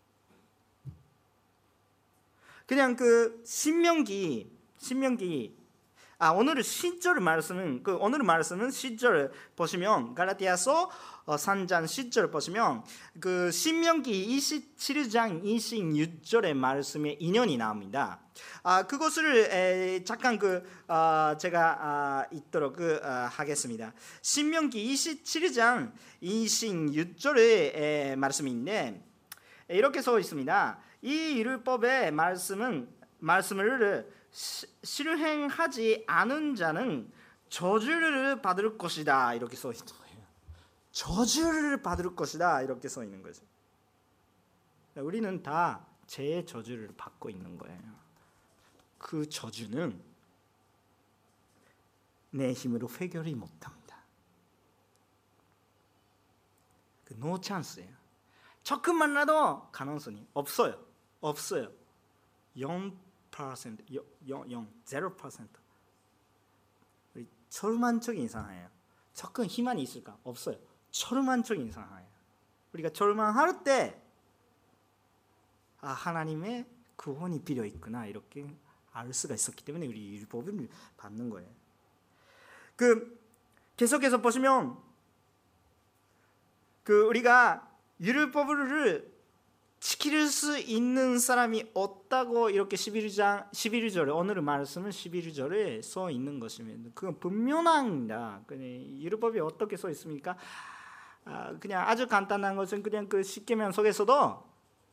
그냥 그 신명기 신명기 아 오늘 십 절 말씀은 그 오늘 말씀은 십 절 보시면 갈라디아서 삼 장 십 절 보시면 그 신명기 이십칠 장 이십육 절의 말씀에 인연이 나옵니다. 아 그것을 에, 잠깐 그 어, 제가 아, 읽도록 그, 어, 하겠습니다. 신명기 이십칠 장 이십육 절의 에, 말씀인데 이렇게 써 있습니다. 이 율법의 말씀은 말씀을 시, 실행하지 않은 자는 저주를 받을 것이다 이렇게 써 있는 거예요. 저주를 받을 것이다 이렇게 써 있는 거죠. 우리는 다 죄의 저주를 받고 있는 거예요. 그 저주는 내 힘으로 해결이 못합니다. 그 노 찬스예요. 조금만 나도 가능성이 없어요. 없어요. 영 퍼센트, 영, 영, 영 퍼센트. 우리 절망적인 이상해요. 조금 희망이 있을까? 없어요. 절망적인 이상해요. 우리가 절망할 때 아, 하나님의 구원이 필요 있구나 이렇게 알 수가 있었기 때문에 우리 율법을 받는 거예요. 그 계속해서 보시면 그 우리가 율법을 지킬 수 있는 사람이 없다고 이렇게 십일 장 십일 절에 오늘 말씀은 십일 절에 써 있는 것입니다. 그건 분명합니다. 율법이 어떻게 써 있습니까? 아, 그냥 아주 간단한 것은 그냥 그 십계명 속에서도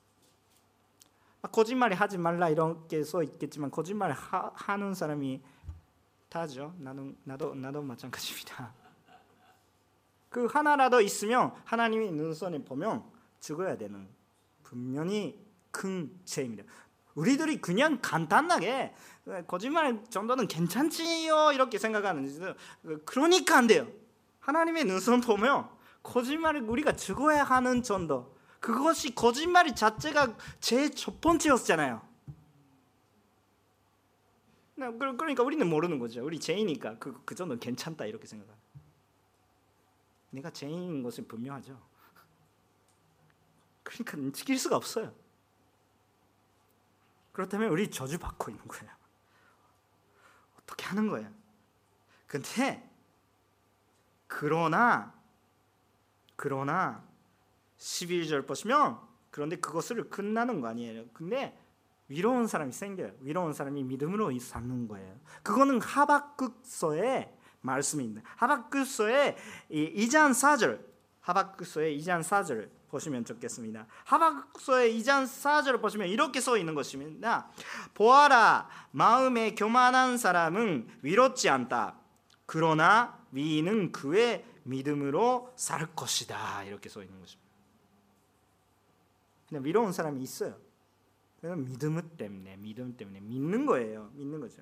거짓말이 하지 말라 이렇게 써 있겠지만 거짓말 하, 하는 사람이 다죠. 나도 나도 나도 마찬가지입니다. 그 하나라도 있으면 하나님이 눈선에 보면 죽어야 되는 분명히 큰 죄입니다. 우리들이 그냥 간단하게 거짓말 정도는 괜찮지요 이렇게 생각하는데 그러니까 안 돼요. 하나님의 눈선 보면 거짓말을 우리가 죽어야 하는 정도. 그것이 거짓말이 자체가 제 첫 번째였잖아요. 그러니까 우리는 모르는 거죠. 우리 죄이니까 그, 그 정도는 괜찮다 이렇게 생각해요. 내가 죄인인 것은 분명하죠. 그러니까 지킬 수가 없어요. 그렇다면 우리 저주받고 있는 거예요. 어떻게 하는 거예요? 근데 그러나 그러나 십일 절 보시면 그런데 그것을 끝나는 거 아니에요. 근데 위로운 사람이 생겨요. 위로운 사람이 믿음으로 사는 거예요. 그거는 하박국서의 말씀입니다. 하박국서의 이 장 사 절, 하박국서의 이 장 사 절 보시면 좋겠습니다. 하박국서의 이 장 사 절을 보시면 이렇게 써 있는 것입니다. 보아라, 마음에 교만한 사람은 위롭지 않다. 그러나 위인은 그의 믿음으로 살 것이다. 이렇게 써 있는 것입니다. 그냥 위로운 사람이 있어요. 그냥 믿음 때문에, 믿음 때문에 믿는 거예요. 믿는 거죠.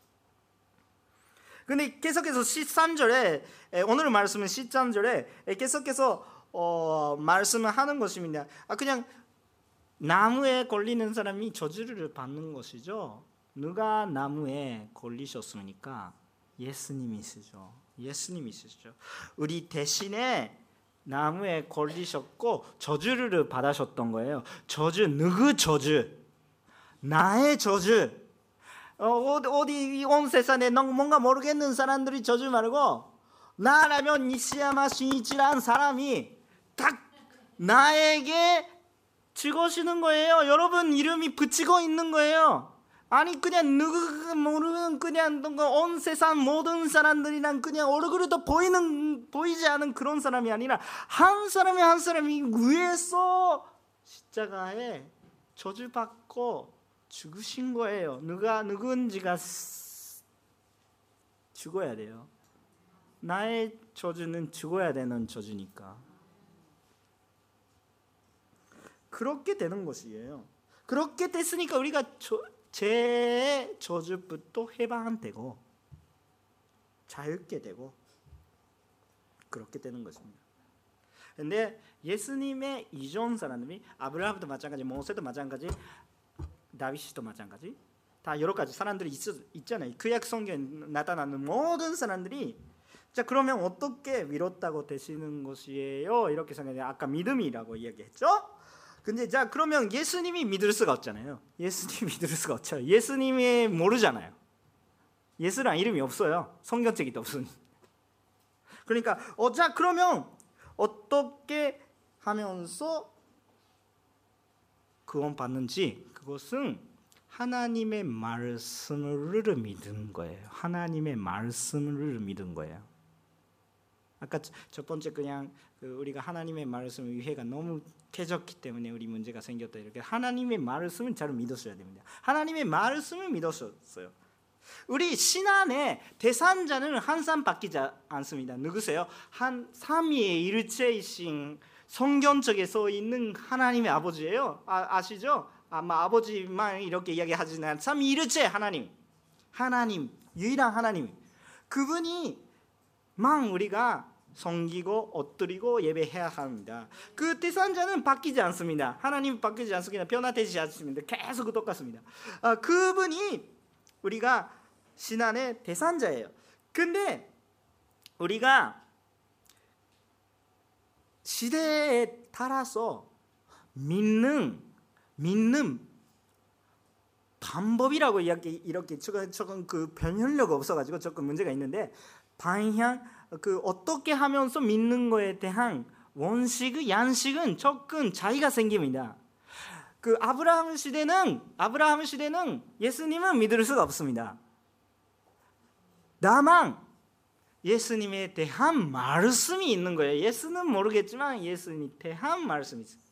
근데 계속해서 십삼 절에 오늘 말씀은 십삼 절에 계속해서 어, 말씀을 하는 것입니다. 아, 그냥 나무에 걸리는 사람이 저주를 받는 것이죠. 누가 나무에 걸리셨습니까? 예수님이시죠. 예수님이시죠. 우리 대신에 나무에 걸리셨고 저주를 받으셨던 거예요. 저주, 누구 저주? 나의 저주. 어, 어디 온 세상에 뭔가 모르겠는 사람들이 저주 말고 나라면 니시야마 신이치라는 사람이 딱 나에게 죽으시는 거예요. 여러분 이름이 붙이고 있는 거예요. 아니 그냥 누구 모르는 그냥 온 세상 모든 사람들이랑 그냥 얼굴도 보이는 보이지 않은 그런 사람이 아니라 한 사람이 한 사람이 위에서 십자가에 저주받고 죽으신 거예요. 누가 누군지가 죽어야 돼요. 나의 저주는 죽어야 되는 저주니까. 그렇게 되는 것이에요. 그렇게 됐으니까 우리가 저, 죄의 저주부터 해방되고 자유롭게 되고 그렇게 되는 것입니다. 근데 예수님의 이전 사람들이 아브라함도 마찬가지, 모세도 마찬가지, 다윗도 마찬가지, 다 여러 가지 사람들이 있, 있잖아요. 구약 성경에 나타나는 모든 사람들이 자 그러면 어떻게 위롭다고 되시는 것이에요? 이렇게 생각해요. 아까 믿음이라고 이야기했죠. 근데 자 그러면 예수님이 믿을 수가 없잖아요. 예수님이 믿을 수가 없죠. 예수님이 모르잖아요. 예수란 이름이 없어요. 성경책에도 없으니. 그러니까 어, 자 그러면 어떻게 하면서 구원받는지 그것은 하나님의 말씀을 믿는 거예요. 하나님의 말씀을 믿는 거예요. 아까 첫 번째 그냥 그 우리가 하나님의 말씀 이해가 너무 깨졌기 때문에 우리 문제가 생겼다 이렇게 하나님의 말씀을 잘 믿었어야 됩니다. 하나님의 말씀을 믿었어요. 우리 신앙의 대상자는 한 사람밖에 않습니다. 누구세요? 한 삼위의 일체이신 성경 쪽에 써 있는 하나님의 아버지예요. 아, 아시죠? 아마 아버지만 이렇게 이야기하지는 않아요. 삼위일체 하나님, 하나님, 유일한 하나님, 그분이만 우리가 섬기고 엎드리고 예배해야 합니다. 그 대상자는 바뀌지 않습니다. 하나님 바뀌지 않습니다. 변화되지 않습니다. 계속 똑같습니다. 아, 그분이 우리가 신앙의 대상자예요. 근데 우리가 시대에 따라서 믿는 믿는 방법이라고 이렇게 이렇게 조금, 조금 그 변형력 없어가지고 조금 문제가 있는데, 방향 그 어떻게 하면서 믿는 거에 대한 원칙, 양식은 조금 차이가 생깁니다. 그 아브라함 시대는 아브라함 시대는 예수님은 믿을 수가 없습니다. 다만 예수님에 대한 말씀이 있는 거예요. 예수는 모르겠지만 예수님에 대한 말씀이 있어요.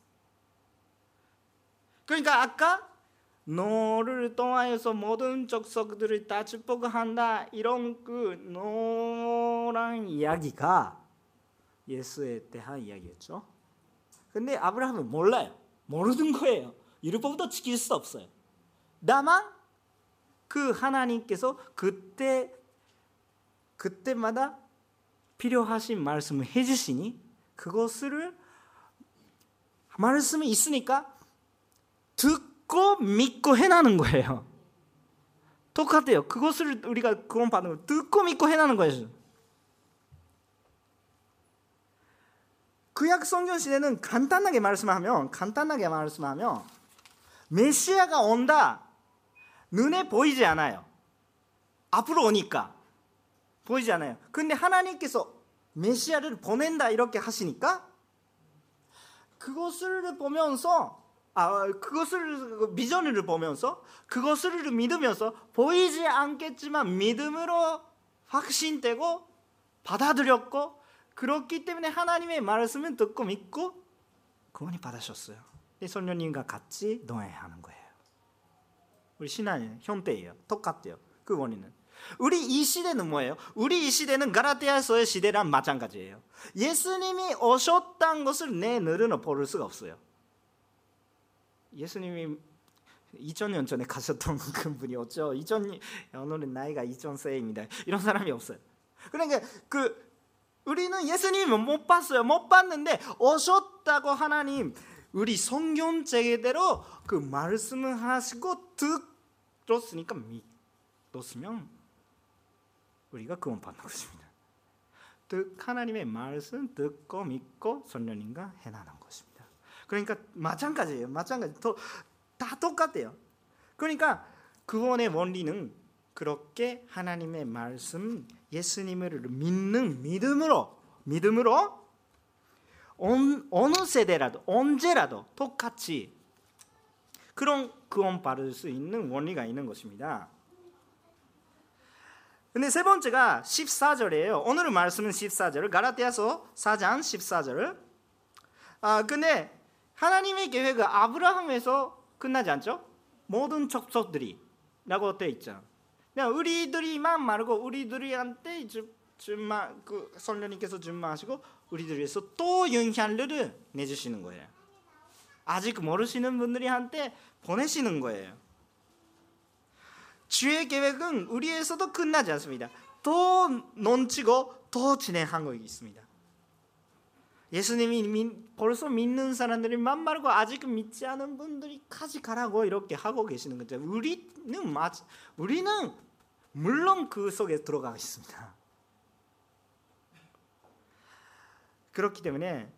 그러니까 아까 너를 통하여서 모든 족속들을 다 축복한다, 이런 그 노란 이야기가 예수에 대한 이야기였죠. 근데 아브라함은 몰라요. 모르는 거예요. 율법도 지킬 수 없어요. 다만 그 하나님께서 그때 그때마다 필요하신 말씀을 해주시니 그것을 말씀이 있으니까 듣고 믿고 해나는 거예요. 똑같아요. 그것을 우리가 구원받는 거, 듣고 믿고 해나는 거예요. 구약 성경 시대는 간단하게 말씀하면 간단하게 말씀하면 메시아가 온다, 눈에 보이지 않아요. 앞으로 오니까 보이지 않아요. 근데 하나님께서 메시아를 보낸다 이렇게 하시니까 그것을 보면서 아 그것을 비전을 보면서 그것을 믿으면서 보이지 않겠지만 믿음으로 확신되고 받아들였고, 그렇기 때문에 하나님의 말씀은 듣고 믿고 구원이 받으셨어요. 성령님과 같이 노예하는 거예요. 우리 신앙의 형태예요. 똑같아요. 그 원인은. 우리 이 시대는 뭐예요? 우리 이 시대는 갈라디아서의 시대랑 마찬가지예요. 예수님이 오셨다는 것을 내 눈으로 볼 수가 없어요. 예수님이 이천 년 전에 가셨던 그분이 어쩌 이천 년, 오늘은 나이가 이천 세입니다. 이런 사람이 없어요. 그러니까 그 우리는 예수님을 못 봤어요. 못 봤는데 오셨다고 하나님 우리 성경책대로 그 말씀을 하시고 들었으니까 믿었으면 우리가 구원 받는 것입니다. 즉 하나님의 말씀 듣고 믿고 성령님과 해나가는 것입니다. 그러니까 마찬가지예요. 마찬가지. 다 똑같아요. 그러니까 구원의 원리는 그렇게 하나님의 말씀, 예수님을 믿는 믿음으로 믿음으로 온, 어느 세대라도 언제라도 똑같이 그런 구원 받을 수 있는 원리가 있는 것입니다. 근데 세 번째가 십사 절이에요. 오늘 말씀은 십사 절, 갈라디아서 사 장 십사 절. 아 근데 하나님의 계획은 아브라함에서 끝나지 않죠? 모든 족속들이 라고 되어 있죠. 그냥 우리들이만 말고 우리들한테 준마 그 성령님께서 준마하시고 우리들 위해서 또 영향력을 내주시는 거예요. 아직 모르시는 분들한테 보내시는 거예요. 주의 계획은 우리에서도 끝나지 않습니다. 더 넘치고 더 진행하고 있습니다. 예수님이 벌써 믿는 사람들이 만말고 아직 믿지 않은 분들이까지 가라고 이렇게 하고 계시는 거죠. 우리는 맞, 우리는 물론 그 속에 들어가 있습니다. 그렇기 때문에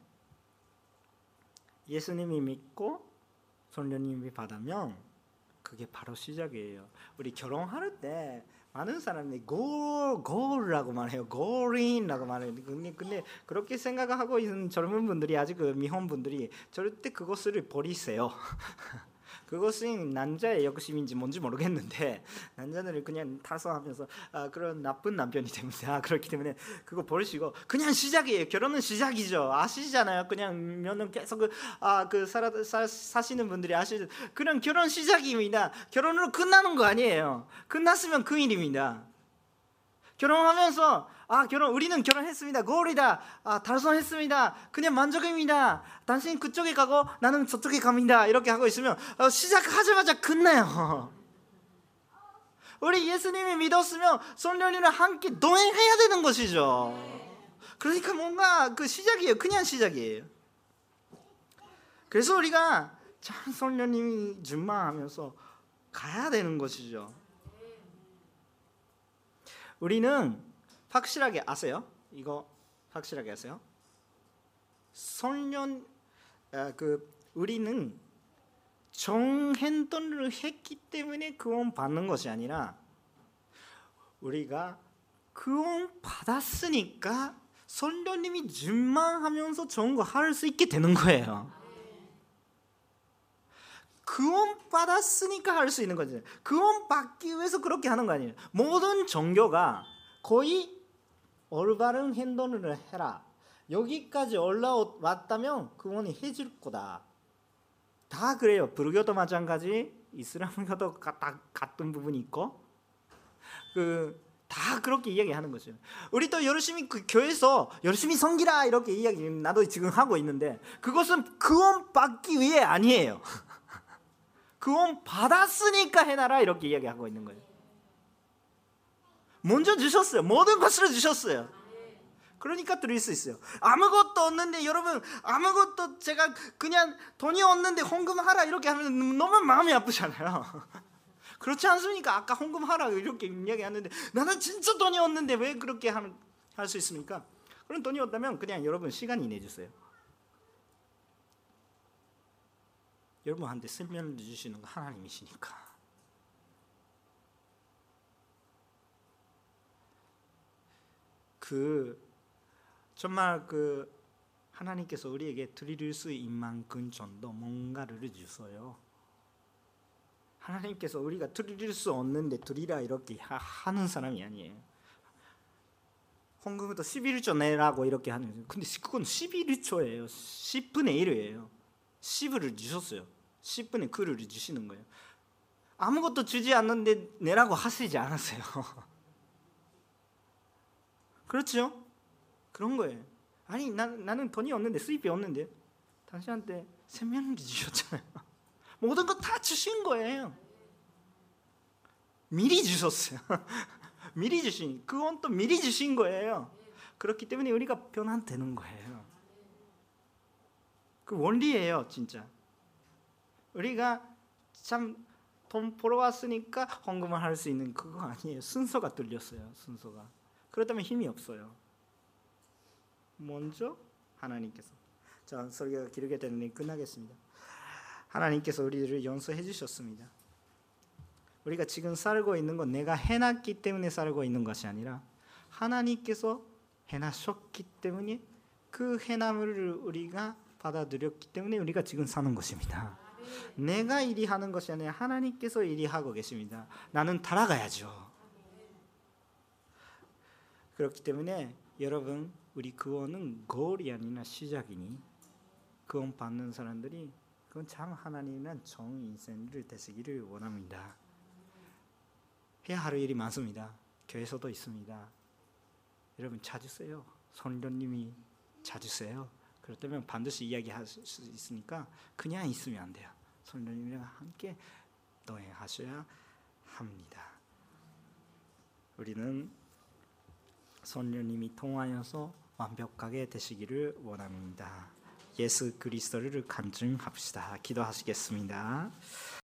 예수님이 믿고 성령님이 받으면 그게 바로 시작이에요. 우리 결혼할 때 많은 사람들이 골, 골이라고 말해요. 골인이라고 말해요. 근데, 근데 그렇게 생각하고 있는 젊은 분들이 아직 그 미혼 분들이 절대 그것을 버리세요. 그것은 남자의 욕심인지 뭔지 모르겠는데 남자들을 그냥 타서하면서 아, 그런 나쁜 남편이 됩니다. 그렇기 때문에 그거 버리시고 그냥 시작이에요. 결혼은 시작이죠. 아시잖아요. 그냥 몇년 계속 그, 아, 그 살아, 사, 사시는 분들이 아시죠. 그냥 결혼 시작입니다. 결혼으로 끝나는 거 아니에요. 끝났으면 그 일입니다. 결혼하면서 아 결혼 우리는 결혼했습니다. 골이다. 아 달성했습니다. 그냥 만족입니다. 당신 그쪽에 가고 나는 저쪽에 갑니다. 이렇게 하고 있으면 어, 시작하자마자 끝나요. 우리 예수님이 믿었으면 성령님이랑 함께 동행해야 되는 것이죠. 그러니까 뭔가 그 시작이에요. 그냥 시작이에요. 그래서 우리가 참 성령님이 준마하면서 가야 되는 것이죠. 우리는 확실하게 아세요? 이거 확실하게 아세요? 성령 아, 그 우리는 정행동을 했기 때문에 구원 받는 것이 아니라 우리가 구원 받았으니까 성령님이 준마하면서 좋은 거 할 수 있게 되는 거예요. 구원 받았으니까 할 수 있는 거지. 구원 받기 위해서 그렇게 하는 거 아니에요. 모든 종교가 거의 올바른 행동을 해라. 여기까지 올라왔다면 구원이 해줄 거다. 다 그래요. 불교도 마찬가지, 이슬람교도 다 같은 부분이 있고, 그 다 그렇게 이야기하는 거죠. 우리도 열심히 그 교회에서 열심히 섬기라 이렇게 이야기 나도 지금 하고 있는데 그것은 구원 받기 위해 아니에요. 구원 받았으니까 해놔라 이렇게 이야기하고 있는 거예요. 먼저 주셨어요. 모든 것을 주셨어요. 그러니까 드릴 수 있어요. 아무것도 없는데 여러분 아무것도 제가 그냥 돈이 없는데 헌금하라 이렇게 하면 너무 마음이 아프잖아요. 그렇지 않습니까? 아까 헌금하라 이렇게 이야기하는데 나는 진짜 돈이 없는데 왜 그렇게 할 수 있습니까? 그런 돈이 없다면 그냥 여러분 시간이 내주세요. 여러분한테 생명을 주시는 거 하나님이시니까. 그 정말 그 하나님께서 우리에게 드릴 수 있는 만큼 정도 뭔가를 주셔요. 하나님께서 우리가 드릴 수 없는데 드리라 이렇게 하는 사람이 아니에요. 헌금부터 십일 조 내라고 이렇게 하는. 근데 그건 십일 조예요. 십분의 일이에요. 십을 주셨어요. 십분의 구를 주시는 거예요. 아무것도 주지 않는데 내라고 하시지 않았어요. 그렇죠? 그런 거예요. 아니 나, 나는 돈이 없는데 수입이 없는데 당신한테 생명을 주셨잖아요. 모든 거 다 주신 거예요. 미리 주셨어요. 미리 주신 그건 또 미리 주신 거예요. 그렇기 때문에 우리가 변화되는 거예요. 그 원리예요, 진짜. 우리가 참 돈 벌어왔으니까 헌금을 할 수 있는 그거 아니에요. 순서가 뚫렸어요. 순서가. 그렇다면 힘이 없어요. 먼저 하나님께서. 자, 설교가 길게 되는데 끝나겠습니다. 하나님께서 우리를 용서해 주셨습니다. 우리가 지금 살고 있는 건 내가 해놨기 때문에 살고 있는 것이 아니라 하나님께서 해나셨기 때문에 그 해남을 우리가 받아들였기 때문에 우리가 지금 사는 것입니다. 내가 일이 하는 것이 아니라 하나님께서 일이 하고 계십니다. 나는 따라가야죠. 그렇기 때문에 여러분 우리 구원은 goal이 아니라 시작이니 구원 받는 사람들이 그건 참 하나님이란 좋은 인생을 되시기를 원합니다. 해야 할 일이 많습니다. 교회에서도 있습니다. 여러분 찾으세요. 성령님이 찾으세요. 그렇다면 반드시 이야기할 수 있으니까 그냥 있으면 안 돼요. 성령님이랑 함께 동행하셔야 합니다. 우리는 성령님이 통하여서 완벽하게 되시기를 원합니다. 예수 그리스도를 간증합시다. 기도하시겠습니다.